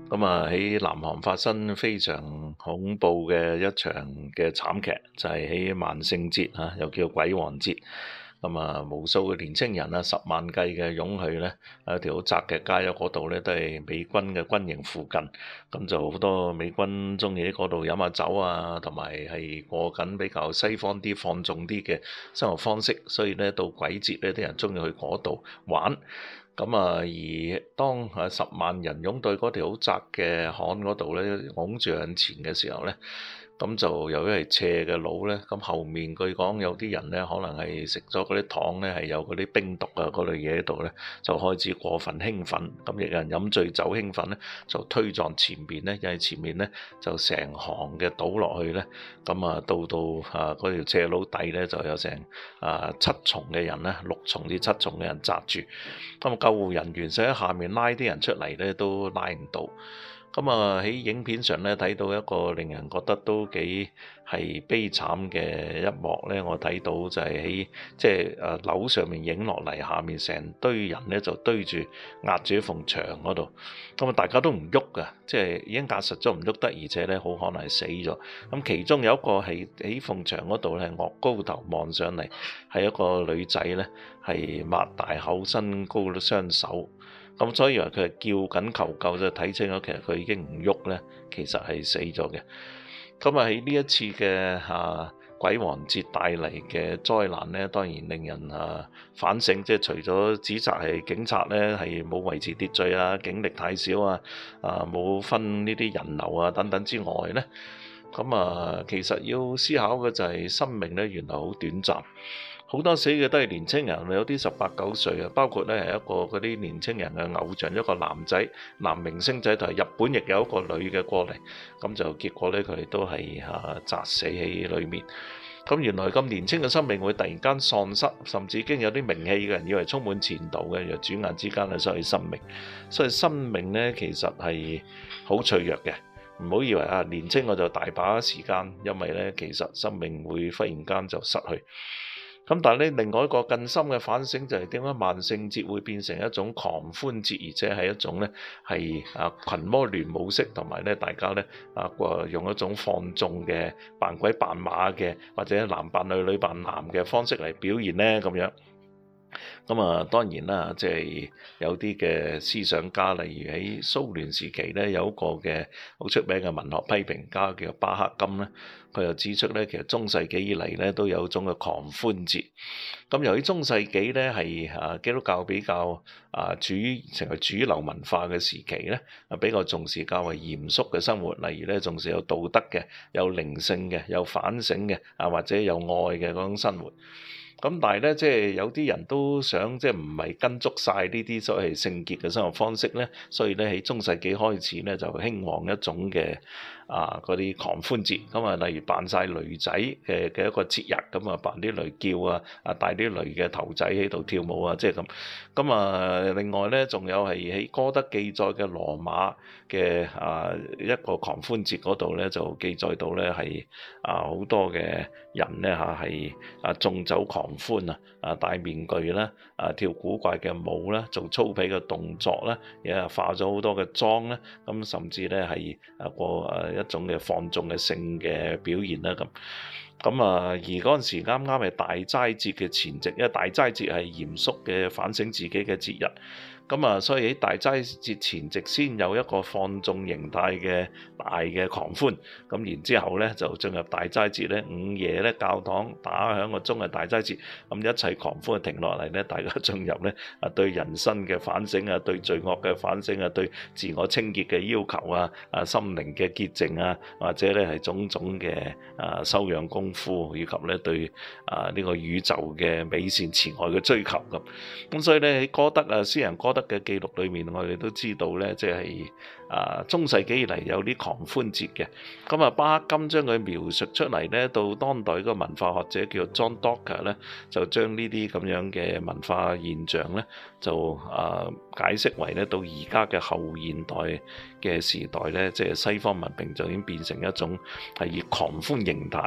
咁喺南韓發生非常恐怖嘅一場嘅慘劇，就係喺萬聖節又叫鬼王節。無數嘅年青人10萬計嘅湧去咧，喺條好窄嘅街嗰度咧，都係美軍嘅軍營附近。咁就好多美軍中意喺嗰度飲下酒啊，同埋係過緊比較西方啲放縱啲嘅生活方式。所以咧，到鬼節咧，啲人中意去嗰度玩。而當10萬人湧到嗰條好窄嘅巷嗰度咧，拱住向前嘅時候咧，咁就由於係斜嘅路咧，咁後面據講有啲人咧，可能係食咗嗰啲糖咧，係有嗰啲冰毒啊嗰類嘢喺度咧，就開始過分興奮，咁亦有人飲醉酒興奮咧，就推撞前面咧，因為前面咧就成行嘅倒落去咧，到嗰條斜路底咧就有成7重嘅人咧，6重至7重嘅人紮住，咁救護人員想喺下面拉啲人出嚟咧，都拉唔到。喺影片上咧睇到一個令人覺得都幾係悲慘嘅一幕咧，我睇到就係喺樓上面影落嚟，下面成堆人咧就堆住壓住一埲牆嗰度，大家都唔喐噶，已經壓實咗唔喐得，而且咧好可能係死咗。其中有一個係喺埲牆嗰度咧，昂高頭望上嚟，係一個女仔咧，係擘大口，伸高咗雙手。所以以為佢係叫緊求救，就睇清楚其實佢已經唔喐咧，其實係死咗嘅。喺呢一次嘅鬼王節帶嚟嘅災難咧，當然令人反省，除咗指責係警察咧係冇維持秩序啊，警力太少啊，冇分呢啲人流啊等等之外咧，其實要思考嘅就係生命咧原來好短暫。好多死嘅都係年青人，有啲18、19歲啊，包括咧係一個嗰啲年青人嘅偶像，一個男明星仔，同埋日本亦有一個女嘅過嚟，咁就結果咧佢哋都係砸死喺裏面。原來咁年輕嘅生命會突然間喪失，甚至已經有啲名氣嘅人以為充滿前途嘅，又轉眼之間失去生命。所以生命咧其實係好脆弱嘅，唔好以為年青我就大把時間，因為咧其實生命會忽然間就失去。但係咧，另外一個更深嘅反省就係點解萬聖節會變成一種狂歡節，而且係一種咧係群魔亂舞式，同埋咧大家咧用一種放縱嘅扮鬼扮馬嘅，或者男扮女女扮男嘅方式嚟表現咧咁樣。當然啦，有啲嘅思想家，例如喺蘇聯時期咧，有一個嘅好出名嘅文學批評家叫巴克金咧，佢又指出咧，其實中世紀以嚟咧都有一種嘅狂歡節。由於中世紀咧係基督教比較成為主流文化嘅時期咧，比較重視較為嚴肅嘅生活，例如咧重視有道德嘅、有靈性嘅、有反省嘅或者有愛嘅嗰種生活。但係咧，有啲人都想唔係跟足晒呢啲所謂聖潔嘅生活方式咧，所以咧喺中世紀開始咧就興旺一種嘅嗰啲狂歡節。例如扮晒驢仔嘅一個節日，扮啲驢叫戴啲驢嘅頭仔喺度跳舞咁。另外咧，仲有係喺歌德記載嘅羅馬嘅一個狂歡節嗰度咧，就記載到咧係好多嘅人咧係縱酒狂歡戴面具啦，跳古怪嘅舞啦，做粗鄙嘅動作啦，化咗好多嘅妝啦，甚至咧係過一種嘅放縱嘅性嘅表現啦咁。而嗰陣時啱啱係大齋節嘅前夕，因為大齋節係嚴肅嘅反省自己嘅節日。所以喺大齋節前夕先有一個放縱形態嘅大嘅狂歡，然之後咧就進入大齋節咧，午夜咧教堂打響個鐘嘅大齋節，一切狂歡停落嚟咧，大家進入咧對人生嘅反省對罪惡嘅反省對自我清潔嘅要求心靈嘅潔淨或者咧係種種嘅修養功夫，以及咧對呢個宇宙嘅美善慈愛嘅追求咁。所以咧喺歌德詩人歌德嘅記錄裏面，我哋都知道咧，中世紀以嚟有啲狂歡節嘅。巴克金將佢描述出嚟咧，到當代個文化學者叫 John Docker 咧，就將呢啲咁樣嘅文化現象咧，就解釋為咧到而家嘅後現代嘅時代咧，西方文明就已經變成一種係以狂歡形態嘅一種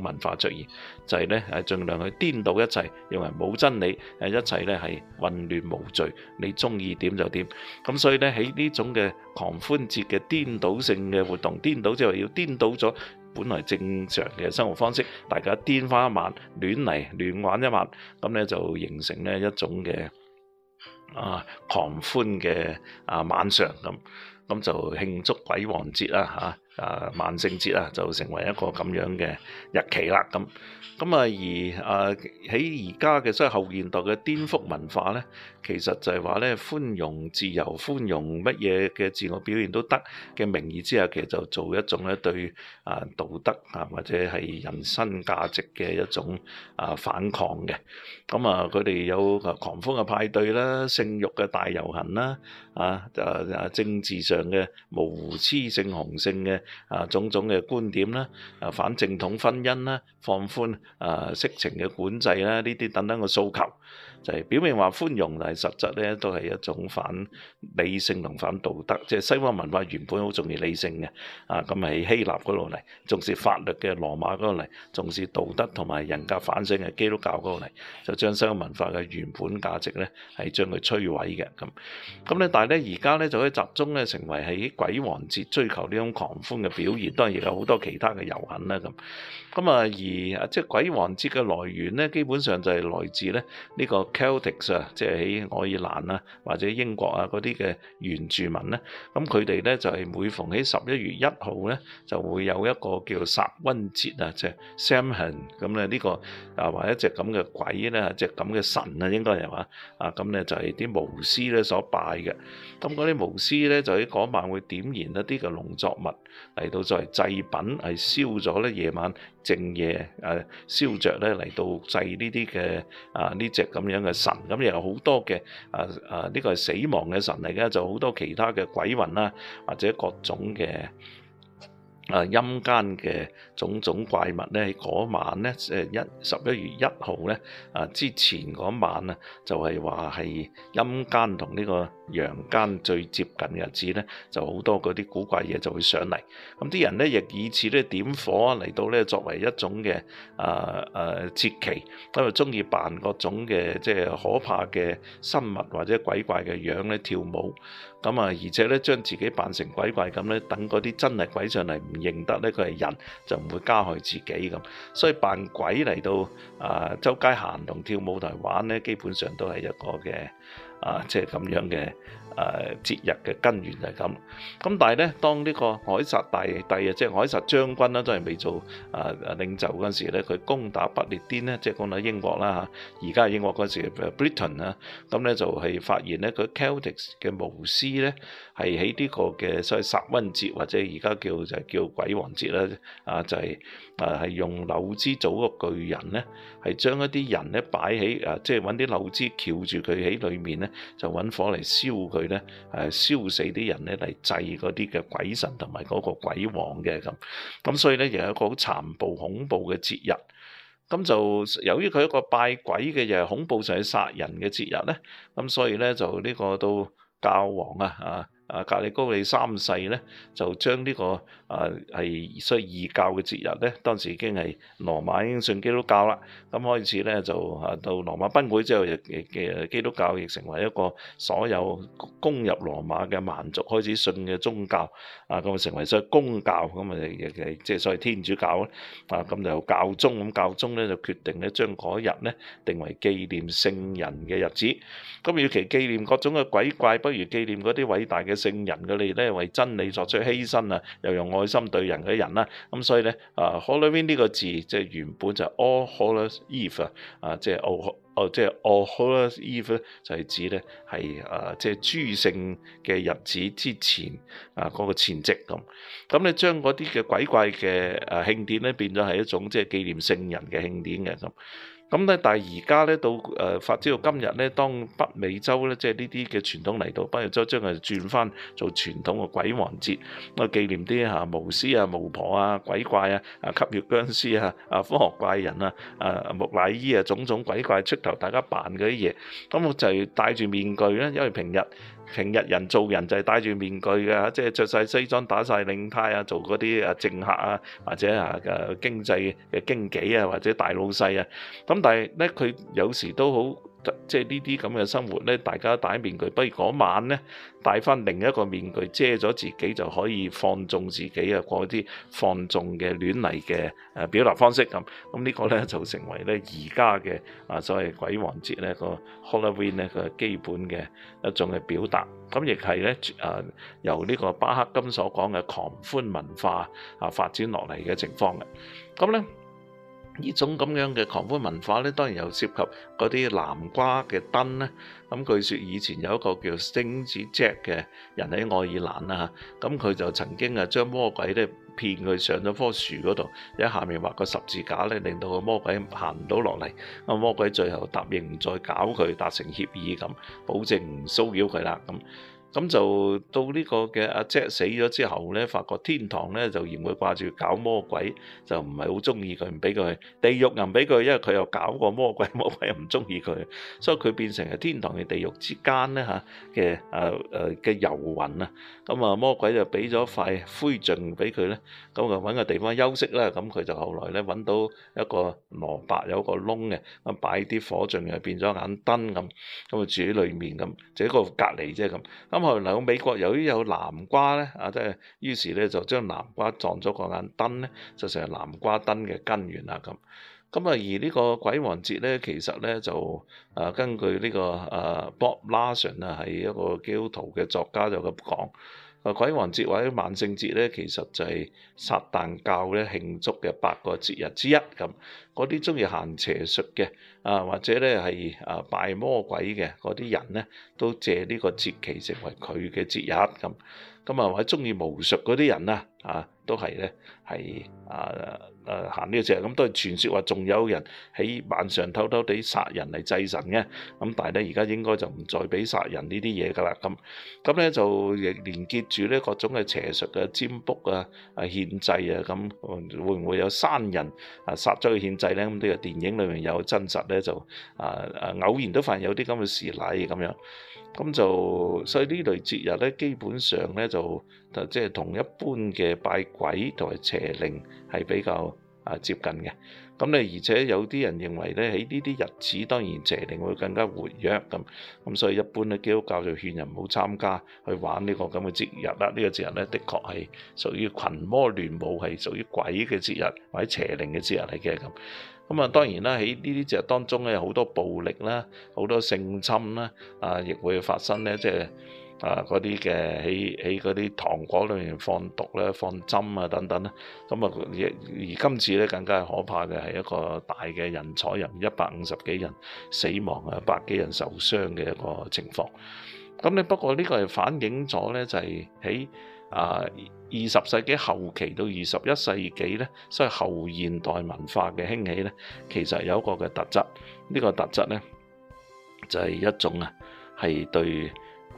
種文化出現，就係咧盡量去顛倒一切，認為冇真理，一切咧係混亂無序，你中意點就點。咁所以咧喺呢種嘅狂歡節嘅顛倒性嘅活動，顛倒即係話要顛倒咗本來正常嘅生活方式，大家顛翻一晚，亂嚟亂玩一晚，咁咧就形成咧一種嘅狂歡嘅晚上咁就慶祝鬼王節啦萬聖節啊，就成為一個咁樣嘅日期啦而喺而家嘅所謂後現代嘅顛覆文化咧，其實就係話咧寬容自由、寬容乜嘢嘅自我表現都得嘅名義之下，其實就做一種咧對道德或者係人生價值嘅一種反抗嘅。佢哋有狂歡嘅派對啦、性慾嘅大遊行啦、政治上嘅模糊雌性雄性嘅種種嘅觀點啦、反正統婚姻啦、放寬色情嘅管制啦，呢啲等等嘅訴求，就係表面話寬容，但係實質咧都係一種反理性同反道德。即係西方文化原本好重視理性嘅，咁喺希臘嗰度嚟重視法律嘅羅馬嗰度嚟重視道德同埋人格反省嘅基督教嗰度嚟，就將西方文化嘅原本價值咧係將佢摧毀嘅咁咧。但係咧而家咧就可以集中咧成為喺鬼王節追求呢種狂歡嘅表現，當然亦有好多其他嘅遊行啦而即係鬼王節嘅來源咧，基本上就係來自咧呢個 Celtics 即係喺愛爾蘭或者英國嗰啲嘅原住民咧，咁佢哋咧就係每逢喺11月1號咧就會有一個叫薩溫節即係 Samhain 咁咧呢個或者一隻咁嘅鬼咧，一隻咁嘅神應該係話咁咧就係啲巫師咧所拜嘅。咁嗰啲巫師咧就喺嗰晚會點燃一啲嘅農作物嚟到作為祭品，係燒咗咧夜晚正夜燒着咧嚟到祭呢啲嘅呢隻咁樣嘅神。咁又有好多嘅呢個係死亡嘅神嚟嘅，就好多其他嘅鬼魂啦，或者各種嘅陰間嘅種種怪物咧，喺嗰晚咧11月1號咧之前嗰晚就係話係陰間同呢個陽間最接近嘅日子咧，就好多嗰啲古怪嘢就會上嚟。咁啲人咧亦以此咧點火嚟到咧作為一種嘅節期，因為中意扮各種嘅即係可怕嘅生物或者鬼怪嘅樣咧跳舞。而且咧將自己扮成鬼怪咁咧，等嗰啲真係鬼上嚟唔認得咧佢係人，就唔會加害自己咁。所以扮鬼嚟到周街行同跳舞台玩咧，基本上都係一個嘅即係咁樣嘅節日嘅根源就係咁。咁但係咧，當呢個凱撒大帝即係凱撒將軍啦，都係未做領袖嗰陣時咧，佢攻打不列顛咧，即係攻打英國啦而家係英國嗰時 Britain 咁咧就係發現咧佢 Celtics 嘅巫師咧係喺呢個嘅所謂薩溫節或者而家叫鬼王節啦就係用柳枝組個巨人咧，係將一啲人咧擺喺即係揾啲柳枝翹住佢喺裏面咧，就揾火嚟燒佢咧，燒死啲人咧嚟祭嗰啲嘅鬼神同埋嗰個鬼王嘅咁所以咧又有一個好殘暴恐怖嘅節日。咁就由於佢一個拜鬼嘅，又係恐怖上去殺人嘅節日咧，咁所以咧就呢個到教皇格里高利3世咧，就將呢個係所謂異教嘅節日咧，當時已經係羅馬已經信基督教啦。咁開始咧就到羅馬崩潰之後，嘅基督教亦成為一個所有攻入羅馬嘅蠻族開始信嘅宗教咁成為所謂公教咁即係所謂天主教咧咁就教宗咁教宗咧就決定咧將嗰日咧定為紀念聖人嘅日子。咁與其紀念各種嘅鬼怪，不如紀念嗰啲偉大嘅聖人，佢哋咧為真理作出犧牲又用愛心對人嘅人啦。咁所以咧Halloween 呢個字即係原本就係 All Hallows Eve 即係All Hallows Eve 就係指咧係即係諸聖嘅日子之前嗰個前夕咁你將嗰啲嘅鬼怪嘅慶典咧變咗係一種即係紀念聖人嘅慶典嘅咁。 咁咧，但係而家咧到發展到今日咧，當北美洲咧，即係呢啲嘅傳統嚟到北美洲，將佢轉翻做傳統嘅鬼王節，咁紀念啲巫師啊、巫婆啊、鬼怪啊、吸血僵屍啊、科學怪人啊、木乃伊啊，種種鬼怪出頭，大家扮嗰啲嘢，咁我就係戴住面具咧，因為平日人做人就係戴住面具嘅，即係着晒西裝打晒領呔啊，做嗰啲政客啊，或者經濟嘅經紀啊，或者大老細啊。咁但係咧，佢有時都好，即係呢啲咁嘅生活咧，大家戴面具，不如嗰晚咧戴翻另一個面具遮咗自己，就可以放縱自己啊，過啲放縱嘅亂嚟嘅表達方式咁。咁呢個咧就成為咧而家嘅所謂鬼王節咧個 Halloween 咧個基本嘅一種嘅表達。咁亦係咧由呢個巴克金所講嘅狂歡文化發展落嚟嘅情況嘅。咁咧呢種咁樣嘅狂歡文化咧，當然又涉及嗰啲南瓜嘅燈咧。咁據說以前有一個叫 Stingy Jack 嘅人喺愛爾蘭啦，咁佢就曾經將魔鬼咧騙佢上咗棵樹嗰度，喺下面畫個十字架咧，令到個魔鬼行唔到落嚟。咁魔鬼最後答應唔再搞佢，達成協議咁，保證唔騷擾佢啦咁。咁就到呢個嘅阿 Jack 死咗之後咧，發覺天堂咧就嫌佢掛住搞魔鬼，就唔係好中意佢，唔俾佢去。地獄又唔俾佢，因為佢又搞過魔鬼，魔鬼又唔中意佢，所以佢變成係天堂嘅地獄之間咧嘅遊魂啊。咁魔鬼就俾咗塊灰燼俾佢咧，咁就揾個地方休息啦。咁佢就後來咧揾到一個蘿蔔有個窿嘅，咁擺啲火燼又變咗眼燈咁，咁住喺裏面咁，就一個隔離啫咁。咁後來美國由於有南瓜咧，即係於是咧就將南瓜撞咗個眼燈咧，就成為南瓜燈嘅根源啦咁。而呢個鬼王節咧，其實咧就根據呢個Bob Larson 係一個基督徒嘅作家就咁講。鬼王節或者萬聖節咧，其實就係撒旦教咧慶祝嘅8個節日之一咁。嗰啲中意行邪術嘅或者咧係拜魔鬼嘅嗰啲人咧，都借呢個節期成為佢嘅節日咁。或者中意巫術嗰啲人都係咧係行呢個節日。咁都係傳說話仲有人喺晚上偷偷地殺人嚟祭神嘅。咁但係咧而家應該就唔再俾殺人呢啲嘢㗎啦。咁咧就亦連結住咧各種嘅邪術占卜獻祭咁，會唔會有山人殺咗佢獻祭咧？咁呢個電影裏面有真實咧，就偶然都發現有啲咁嘅事例咁樣。所以呢類節日咧，基本上咧就即係同一般嘅拜鬼同埋邪靈係比較接近嘅。而且有啲人認為咧，喺呢啲日子當然邪靈會更加活躍咁，所以一般咧基督教就勸人唔好參加去玩呢個咁嘅節日啦。呢個節日咧，的確係屬於群魔亂舞，係屬於鬼嘅節日或者邪靈嘅節日嚟嘅咁。當然啦，喺呢啲節日當中咧，有好多暴力啦，好多性侵啦，亦會發生咧，即係嗰啲嘅喺嗰啲糖果裏面放毒啦、放針等等啦。而今次咧更加係可怕嘅係一個大嘅人踩人，150幾人死亡100幾人受傷嘅一個情況。不過呢個係反映咗咧，就係喺20世紀後期到21世紀咧，所謂後現代文化嘅興起咧，其實有一個嘅特質。呢個特質咧就係一種係對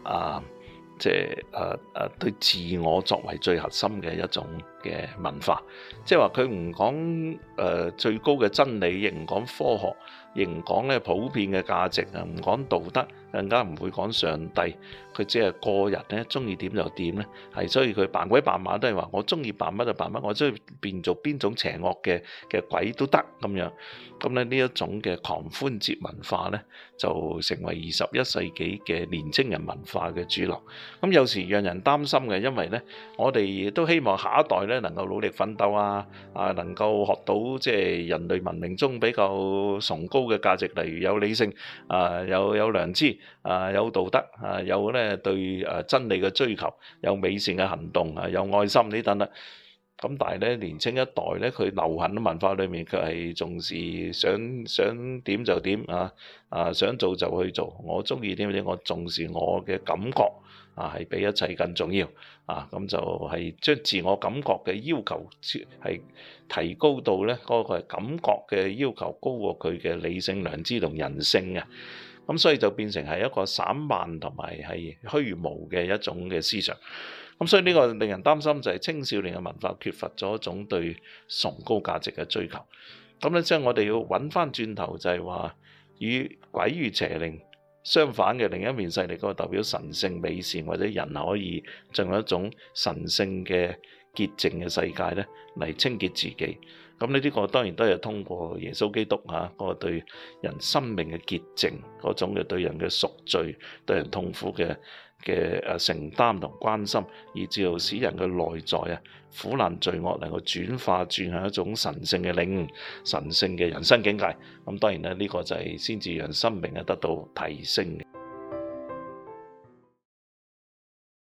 對自我作為最核心嘅一種嘅文化。即係話佢唔講最高嘅真理，亦唔講科學，亦唔講咧普遍嘅價值唔講道德，更加唔會講上帝。佢只係個人咧，中意點就點咧，所以佢扮鬼扮馬都係話我中意扮乜就扮乜，我中意變做邊種邪惡嘅鬼都得咁樣。呢一種嘅狂歡節文化咧，就成為21世紀嘅年青人文化嘅主流。有時讓人擔心嘅，因為咧我哋都希望下一代咧能夠努力奮鬥能夠學到即係人類文明中比較崇高嘅價值，例如有理性有良知有道德有咧對真理嘅追求，有美善嘅行動有愛心呢等等。 咁但係咧，年青一代咧，佢流行嘅文化裏面，佢係重視想點就點想做就去做。我中意點點，我重視我嘅感覺係比一切更重要咁就係將自我感覺嘅要求係提高到咧嗰個感覺嘅要求高過佢嘅理性、良知同人性嘅。咁所以就變成係一個散漫同埋係虛無嘅一種嘅思想。咁所以呢個令人擔心就係青少年嘅文化缺乏咗一種對崇高價值嘅追求。咁咧即係我哋要揾翻轉頭就係話，與鬼與邪靈相反嘅另一面勢力，嗰個代表神聖美善或者人可以進入一種神聖嘅潔淨嘅世界咧，嚟清潔自己。咁呢個當然都係通過耶穌基督嗰個對人生命嘅潔淨，嗰種嘅對人嘅贖罪、對人痛苦嘅承擔同關心，以至到使人嘅內在苦難罪惡能夠轉向一種神聖嘅領悟、神聖嘅人生境界。咁當然咧，呢個就係先至讓生命得到提升嘅。